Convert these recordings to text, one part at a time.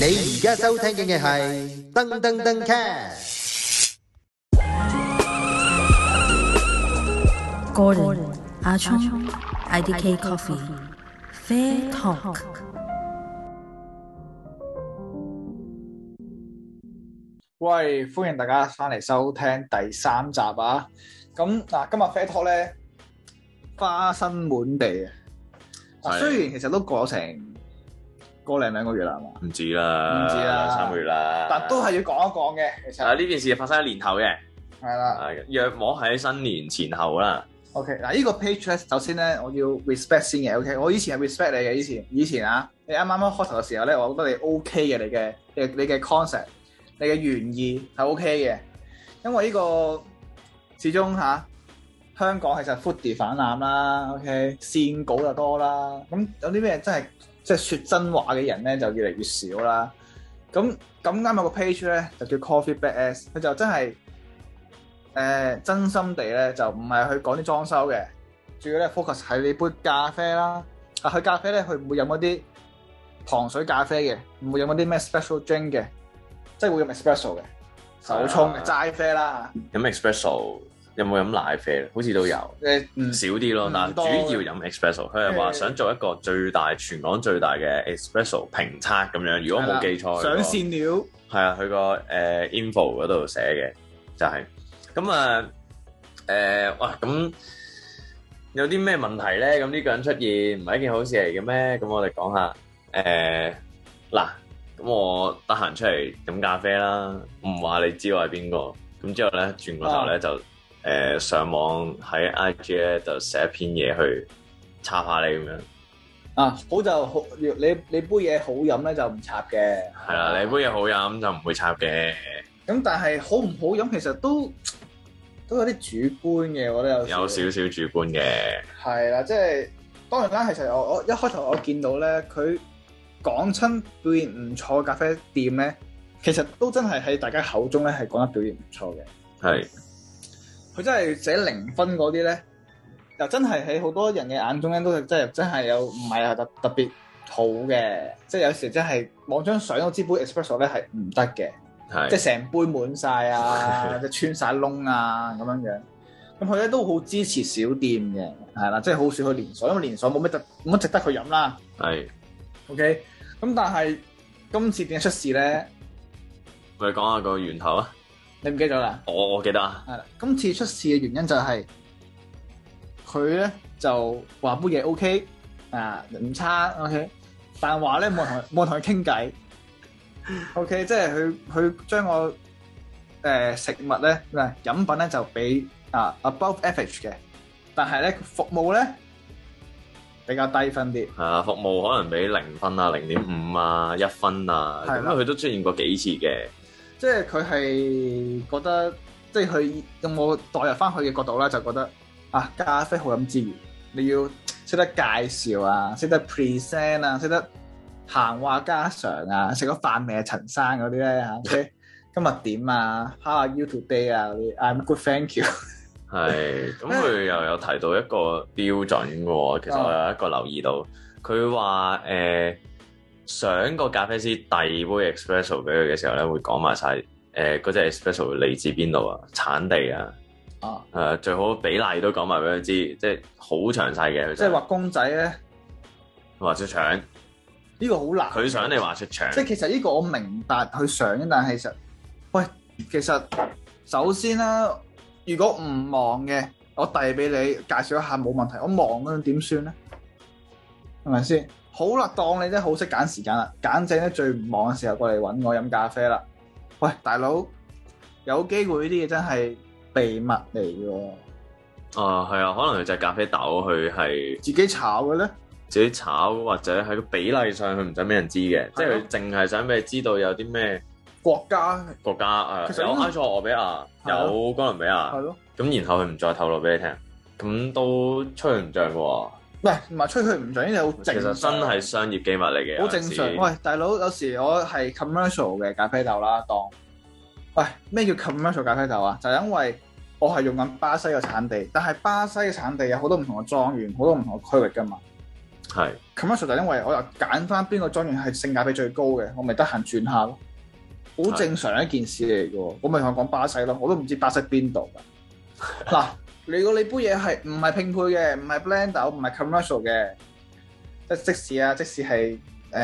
你而家收聽嘅係噔噔噔 cast。 Gordon 阿聰 IDK Coffee Fair Talk。 喂，歡迎大家翻嚟收聽第3集啊！咁嗱，今日 Fair Talk 咧花生滿地啊！雖然其實都過成個零兩個月啦，係嘛？ 唔止啦，2-3個月啦， 但都係要講一講嘅。其實呢件事發生喺年後嘅， 係啦， 約莫喺新年前後啦。 OK，嗱呢個 page 咧，首先咧我要 respect 先嘅。OK，我以前係 respect 你嘅，以前啊，你啱啱開頭嘅時候咧，我覺得你 OK 嘅，你嘅 concept。你嘅原意係 OK 嘅，因為呢個始終香港其實 foodie 泛濫啦 ，OK 線稿就多啦，咁有啲咩真係即係説真話嘅人咧就越嚟越少啦。咁啱有個 page 咧就叫 Coffee Badass， 佢就真係真心地咧就唔係去講啲裝修嘅，主要咧 focus 喺你杯咖啡啦。佢咖啡咧佢唔會飲嗰啲糖水咖啡嘅，唔會飲嗰啲咩 special drink 嘅。即係會飲 espresso 嘅手沖嘅齋啡啦。 飲 espresso 有冇飲奶啡？好似都有，少啲咯。但係主要飲 espresso。佢係話想做一個全港最大嘅 espresso 評測咁樣。如果冇記錯， 上線料係啊，佢個info 嗰度寫嘅就係咁啊。哇咁有啲咩問題咧？咁呢個人出現唔係一件好事嚟嘅咩？咁我哋講下嗱。咁我得閒出嚟飲咖啡啦，唔話你知我係邊個。咁之後咧轉個頭咧就上網喺 IG 咧就寫一篇嘢去插下你咁樣。 好就好，你杯嘢好飲咧就唔插嘅。 係啦，你杯嘢好飲就唔會插嘅。 咁但係好唔好飲其實都有啲主觀嘅，我覺得有少少主觀嘅。 係啦，即係當然啦，其實我一開頭我見到咧佢。講親表現唔錯嘅咖啡店咧，其實都真係喺大家口中咧係講得表現唔錯嘅。 係， 佢真係寫0分嗰啲咧，又真係喺好多人嘅眼中咧都係真係有唔係特別好嘅。即係有時真係望張相都知杯 espresso 咧係唔得嘅，即係成杯滿晒啊，即係穿晒窿啊咁樣樣。咁佢咧都好支持小店嘅，係啦，即係好少去連鎖，因為連鎖冇乜值得去飲啦。 係。 OK， 咁但係今次點解出事咧？ 我哋講下個源頭啊！ 你唔記得咗啦？ 我記得啊。 係啦，今次出事嘅原因就係佢咧就話杯嘢 OK 唔差 OK， 但話咧冇人同佢傾偈 OK， 即係佢將個食物咧飲品咧就俾above average 嘅，但係咧服務咧比較低分啲， 服務可能俾0分啊、0.5啊、1分啊，咁佢都出現過幾次嘅。 即係佢係覺得，即係佢用我代入翻佢嘅角度啦，就覺得咖啡好飲之餘，你要識得介紹啊，識得 present 啊，識得閒話家常啊，食咗飯未啊陳生嗰啲咧今日點啊 ？How are you today 啊？I'm good, thank you。 係，咁佢又有提到一個標準嘅喎，其實我有一個留意到，佢話想個咖啡師遞杯 espresso 俾佢嘅時候咧，會講埋晒嗰隻 espresso 嚟自邊度啊，產地啊，最好比例都講埋俾佢知，即係好詳細嘅。即係畫公仔咧， 畫出腸， 呢個好難。 佢想你畫出腸， 即係其實呢個我明白佢想，但係其實首先啦。如果唔忙嘅，我遞俾你介紹一下冇問題。我忙嗰陣點算咧？係咪先？好啦，當你真係好識揀時間啦，揀正咧最唔忙嘅時候過嚟揾我飲咖啡啦。喂，大佬，有機會呢啲嘢真係秘密嚟嘅喎。 係啊，可能佢隻咖啡豆佢係自己炒嘅咧， 自己炒或者喺個比例上佢唔想俾人知嘅，即係佢淨係想俾你知道有啲咩。國家有埃塞俄比亞，有哥倫比亞，係咯。咁然後佢唔再透露俾你聽，咁都吹佢唔脹嘅喎。 唔係吹佢唔脹，呢啲好正常。 其實真係商業機密嚟嘅， 好正常。喂，大佬，有時我係 commercial 嘅咖啡豆啦，咩叫 commercial 咖啡豆啊？就係因為我係用緊巴西嘅產地，但係巴西嘅產地有好多唔同嘅莊園，好多唔同嘅區域㗎嘛。 係 commercial 就因為我又揀翻邊個莊園係性價比最高嘅，我咪得閒轉下咯，好正常一件事嚟嘅喎。我咪同佢講巴西咯，我都唔知巴西邊度㗎。嗱，如果你杯嘢係唔係拼配嘅，唔係 blend 唔係 commercial 嘅，即使係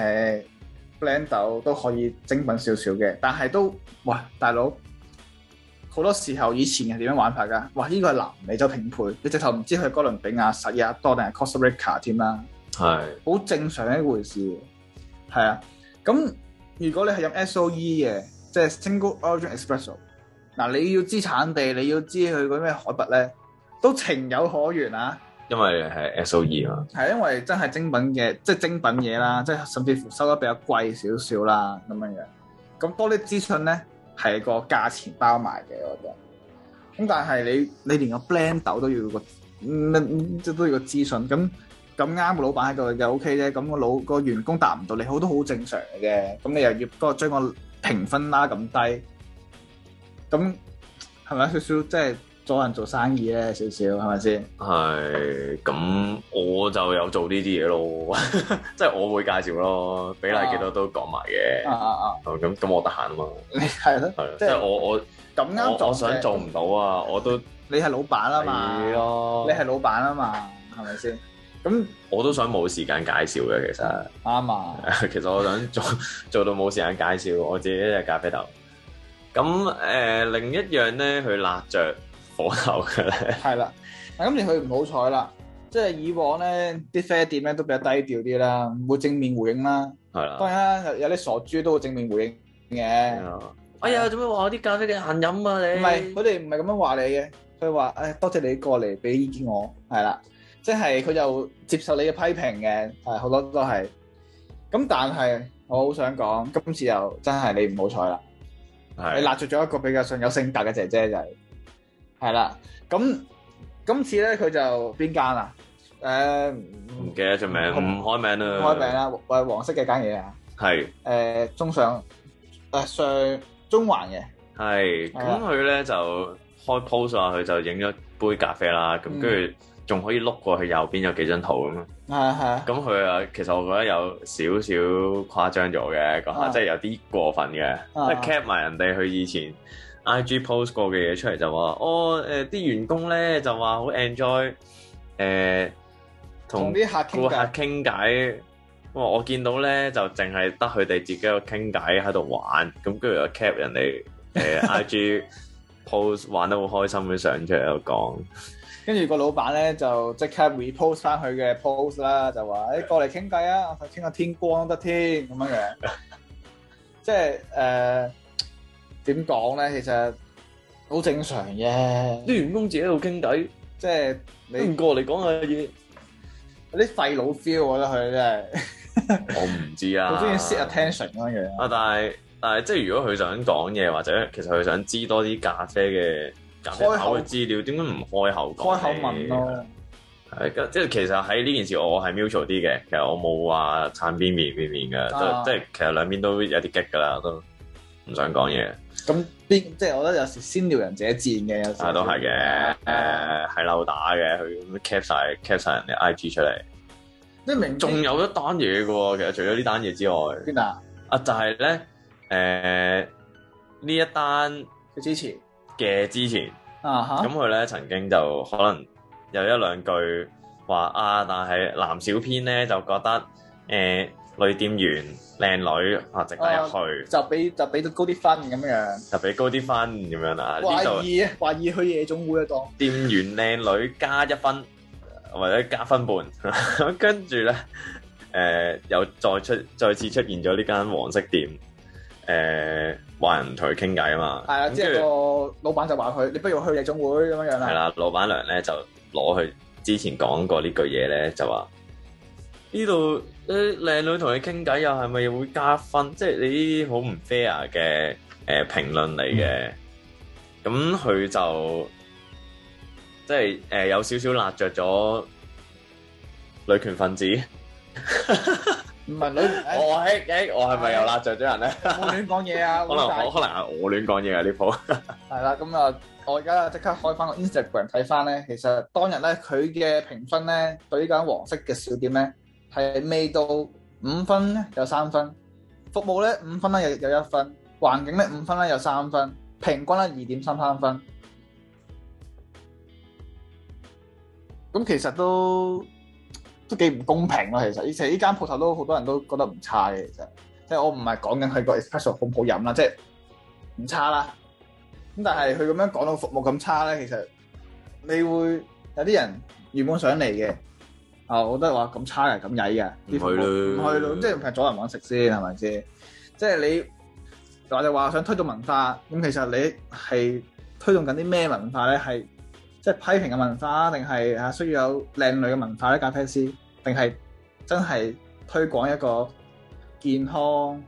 blend 都可以精品少少嘅，但係都哇大佬好多時候以前係點樣玩法㗎？哇！呢個係南美洲拼配，你直頭唔知佢係哥倫比亞、實亞多定係 Costa Rica 添啦。 係好正常一回事，係啊。咁如果你係飲 SOE 嘅，即係 Single Origin Espresso， 嗱你要知產地，你要知佢嗰咩海拔咧，都情有可原啊。 因為係 SOE 嘛， 係因為真係精品嘅，即係精品嘢啦，即係甚至乎收得比較貴少少啦咁樣樣。咁多啲資訊咧係個價錢包埋嘅，我覺得。咁但係你連個 blend 豆都要個即都要個資訊咁。咁啱個老闆喺度就 OK 啫，咁個員工答唔到你好都好正常嘅啫。咁你又要將個評分拉咁低，咁係咪少少即係阻人做生意咧？少少係咪先？ 係咁我就有做呢啲嘢咯，即係我會介紹咯，比例幾多都講埋嘅。咁我得閒啊嘛。 你係咯， 即係我咁啱做， 我想做唔到啊，我都你係老闆啊嘛， 係咯， 你係老闆啊嘛，係咪先？咁我都想冇時間介紹嘅，其實啱啊。 其實我想做到冇時間介紹我自己一隻咖啡豆。咁另一樣咧，佢辣着火頭嘅咧， 係啦。咁你佢唔好彩啦，即係以往咧啲啡店咧都比較低調啲啦，唔會正面回應啦。 係啦。 當然啦，有啲傻豬都會正面回應嘅。 哎呀，做咩話我啲咖啡嘅限飲啊你？ 唔係，佢哋唔係咁樣話你嘅，佢話多謝你過嚟俾意見我，係啦。即係佢就接受你嘅批評嘅，係好多都係。咁但係我好想講，今次又真係你唔好彩啦。你辣着咗一個比較上有性格嘅姐姐就係啦。咁今次咧佢就邊間啊？ 唔記得咗名，唔開名啦。 唔開名啦，黃色嘅間嘢啊。 係中上中環嘅。 係咁佢咧就開 post 啊，佢就影咗杯咖啡啦，咁跟住。仲可以碌過去右邊有幾張圖咁啊！ 係。 咁佢啊，其實我覺得有少少誇張咗嘅，講下即係有啲過分嘅，即係 cap 埋人哋佢以前 IG post 過嘅嘢出嚟就話，啲員工咧就話好 enjoy 同啲顧客傾偈。我見到咧就淨係得佢哋自己個傾偈喺度玩，咁跟住又 cap 人哋IG post 玩得好開心嘅相出嚟喺度講。 跟住個老闆咧就即刻 repost 翻佢嘅 post 啦，就話過嚟傾偈啊，我傾下天光都得添咁樣嘅。即係點講咧？其實好正常嘅， 啲員工自己喺度傾偈， 即係你唔過嚟講下嘢， 有啲廢佬 feel，我覺得佢真係。我唔知啊， 好中意 set attention 咁樣啊！但係即係如果佢想講嘢，或者其實佢想知多啲咖啡嘅。開口嘅資料點解唔開口講？開口問咯， 係即係其實喺呢件事我係 mutual 啲嘅，其實我冇話撐邊面嘅，即係其實兩邊都有啲激㗎啦，都唔想講嘢。 咁即係我覺得有時先撩人者賤嘅，有時都係嘅，係漏打嘅，佢 cap 晒人哋 IG 出嚟。 即係明仲有一單嘢嘅喎，其實除咗呢單嘢之外， 邊啊？ 就係咧呢一單之前。 咁佢咧曾經就可能有一兩句話但係男小編咧就覺得女店員靚女值得入去， 就俾到高啲分咁樣， 就俾高啲分咁樣啦。 懷疑去夜總會當店員靚女加1分或者加分半，跟住咧又再次出現咗呢間黃色店。話人同佢傾偈啊嘛， 係啊，即係個老闆就話佢，你不如去夜總會咁樣樣啦。 係啦，老闆娘咧就攞佢之前講過呢句嘢咧，就話呢度靚女同你傾偈又係咪會加分？即係你呢啲好唔 fair 嘅評論嚟嘅。咁佢就即係有少少辣着咗女權分子。 唔係女， 我係咪又辣着咗人咧？ 我亂講嘢啊！ 可能係我亂講嘢啊！呢鋪係啦，咁啊，我而家即刻開翻個 Instagram 睇翻咧，其實當日咧佢嘅評分咧對呢間黃色嘅小店咧係未到5分咧有3分，服務咧5分咧有1分，環境咧5分咧有3分，平均咧2.33分。咁其實都幾唔公平咯。其實呢間鋪頭都好多人都覺得唔差嘅。其實即係我唔係講緊佢個 espresso 好唔好飲啦，即係唔差啦。咁但係佢咁樣講到服務咁差咧，其實你會有啲人原本想嚟嘅，我覺得話咁差嘅咁曳嘅，唔去咯，即係唔係阻人揾食先係咪先？即係你我哋話想推動文化，咁其實你係推動緊啲咩文化咧？係即係批評嘅文化，定係需要有靚女嘅文化咧？咖啡師，定係真係推廣一個健康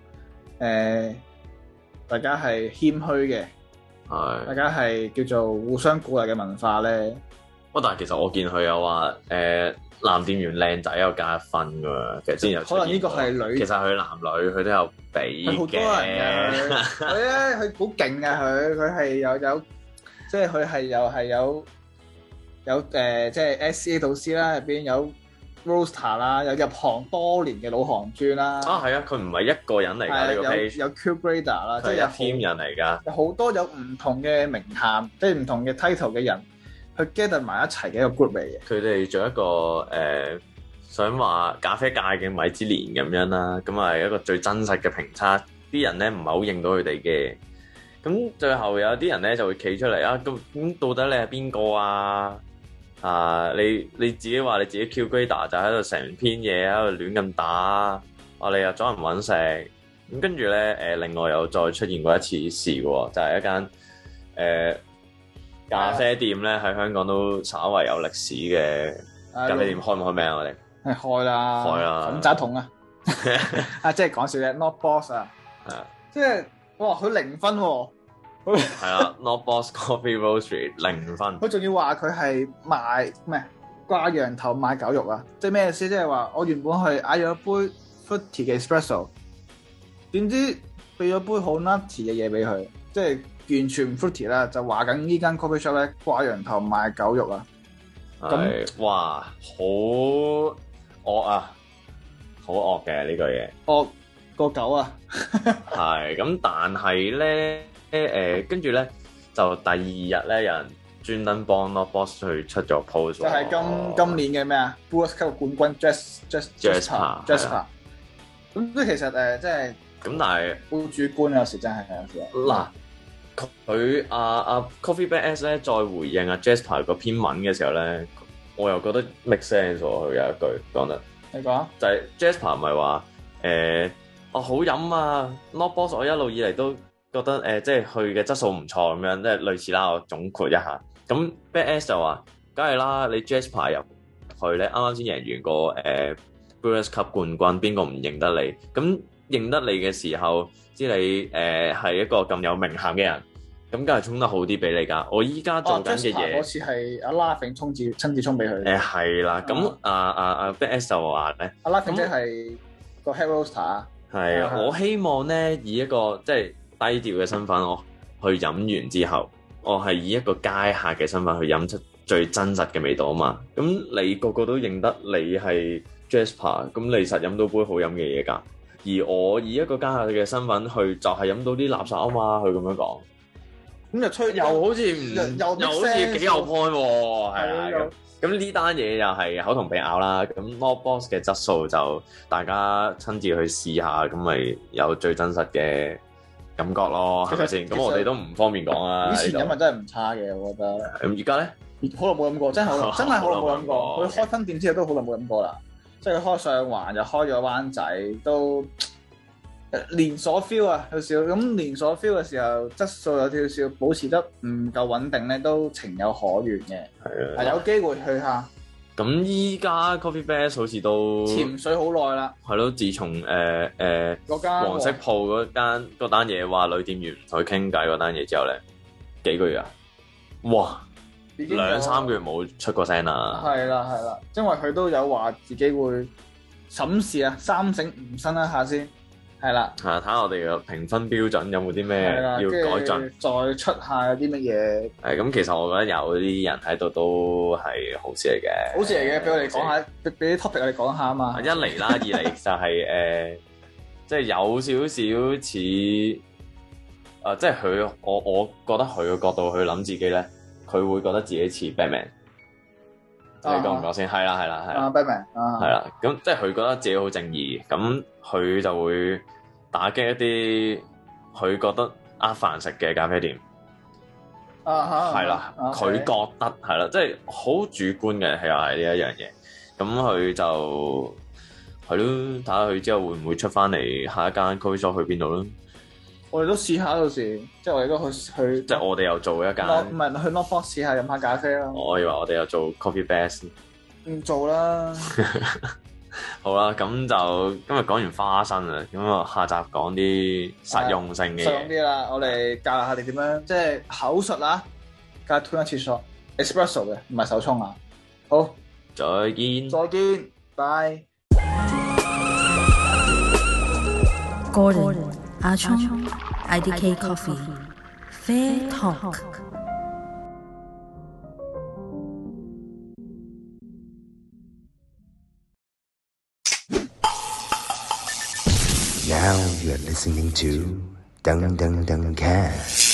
大家係謙虛嘅，大家係叫做互相鼓勵嘅文化咧。 但係其實我見佢有話男店員靚仔有加1分㗎，其實之前有可能呢個係女， 其實佢男女佢都有比嘅。好多人嘅佢咧，佢好勁嘅，佢係有即係佢係又係有即係 SCA 導師啦，入邊有 Roaster 啦，有入行多年嘅老行專啦。係啊，佢唔係一個人嚟㗎，呢個 page 有 Q Grader 啦，即係有 team 人嚟㗎， 有好多有唔同嘅名銜，即係唔同嘅 title 嘅人。佢 gather 埋一齊嘅一個 group 嚟嘅。佢哋做一個想話咖啡界嘅米芝蓮咁樣啦，咁係一個最真實嘅評測。啲人咧唔係好認到佢哋嘅，咁最後有啲人咧就會企出嚟啊！咁到底你係邊個啊？你自己話你自己 Q Grader 就喺度成篇嘢喺度亂咁打，你又阻人揾食。咁跟住咧另外又再出現過一次事喎，就係一間咖啡店咧喺香港都稍為有歷史嘅咖啡店，開唔開名啊？我哋係開啦，咁渣桶啊！即係講笑嘅 Not Boss 啊，即係哇佢0分喎，係啊 Not Boss Coffee Roastery 0分，佢仲要話佢係賣咩掛羊頭賣狗肉啊！即係咩意思？即係話我原本係嗌咗杯 fruity 嘅 espresso， 點知俾咗杯好 nutty 嘅嘢俾佢，即係。完全唔 fruity 啦，就話緊呢間 coffee shop 咧掛羊頭賣狗肉啊！咁哇，好惡啊，好惡嘅呢個嘢，惡個狗啊！係咁，但係咧跟住咧就第2日咧有人專登幫 Not Boss 去出咗 post， 就係今年嘅咩啊 Brewers Cup 冠軍 Jasper，咁即係其實即係咁，但係好主觀有時真係有時嗱。佢Coffee Bean S 咧再回應Jasper 嗰篇文嘅時候咧，我又覺得 make sense 喎。佢有一句講得，你講就係 Jasper 唔係話好飲啊 Not Boss 我一路以嚟都覺得即係佢嘅質素唔錯咁樣，即係類似啦。我總括一下，咁 Bean S 就話，梗係啦，你 Jasper 入去咧，啱啱先贏完個Brewers Cup 冠軍，邊個唔認得你？咁認得你嘅時候，知你係一個咁有名銜嘅人。咁梗係沖得好啲俾你㗎！我依家做緊嘅嘢，嗰次係阿 Laughing 親自沖俾佢。係啦，咁Bean S 就話咧，阿 Laughing 即係個 head roaster。係啊，我希望咧以一個即係低調嘅身份，我去飲完之後，我係以一個街客嘅身份去飲出最真實嘅味道啊嘛。咁你個個都認得你係 Jasper， 咁你實飲到杯好飲嘅嘢㗎。而我以一個街客嘅身份去，就係飲到啲垃圾啊嘛。佢咁樣講。咁就吹又好似唔又好似幾有 point 喎，係啊！咁呢單嘢又係口同鼻拗啦。咁 Not Boss 嘅質素就大家親自去試下，咁咪有最真實嘅感覺咯，係咪先？咁我哋都唔方便講啊。以前飲咪真係唔差嘅，我覺得。咁而家咧，好耐冇飲過，真係好耐冇飲過。佢開分店之後都好耐冇飲過啦。即係佢開上環又開咗灣仔都。連鎖 feel 啊，有少咁連鎖 feel 嘅時候，質素有少少保持得唔夠穩定咧，都情有可原嘅。係啊，有機會去下。咁依家 Coffee Bean 好似都潛水好耐啦。係咯，自從嗰間黃色鋪嗰單嘢話女店員唔同佢傾偈嗰單嘢之後咧，幾個月啊？哇！2-3個月冇出過聲啦。係啦，因為佢都有話自己會審視啊，3省吾身一下先。 係啦， 係啊，睇下我哋嘅評分標準有冇啲咩係啦， 要改進。 跟住再出下有啲乜嘢係咁，其實我覺得有啲人喺度都係好事嚟嘅。 好事嚟嘅，俾我哋講下，俾啲 topic 我哋講下啊嘛。 一嚟啦，二嚟就係即係有少少似即係佢我覺得佢嘅角度去諗自己咧，佢會覺得自己似 Batman。你覺唔覺先？係啦，係啦，係啦。 Batman 啊， 係啦，咁即係佢覺得自己好正義，咁佢就會打擊一啲佢覺得呃飯食嘅咖啡店。係啦，佢覺得係啦，即係好主觀嘅，係又係呢一樣嘢。咁佢就係咯，睇下佢之後會唔會出翻嚟下一間 coffee shop 去邊度咯。 我哋都試下到時，即係我哋都去， 即係我哋又做一間， 唔係去 Northbox 試下飲下咖啡啦。 我以為我哋又做 coffee best。 唔做啦。 好啦，咁就今日講完花生啦，咁啊下集講啲實用性嘅嘢。 實用啲啦，我哋教下你點樣，即係口述啦，加吞一次 shot espresso 嘅，唔係手沖啊。好， 再見。 再見，拜。 Gordon 阿聰 IDK Coffee Fair Talk。 Now you're listening to Dung Dung Dung Cat.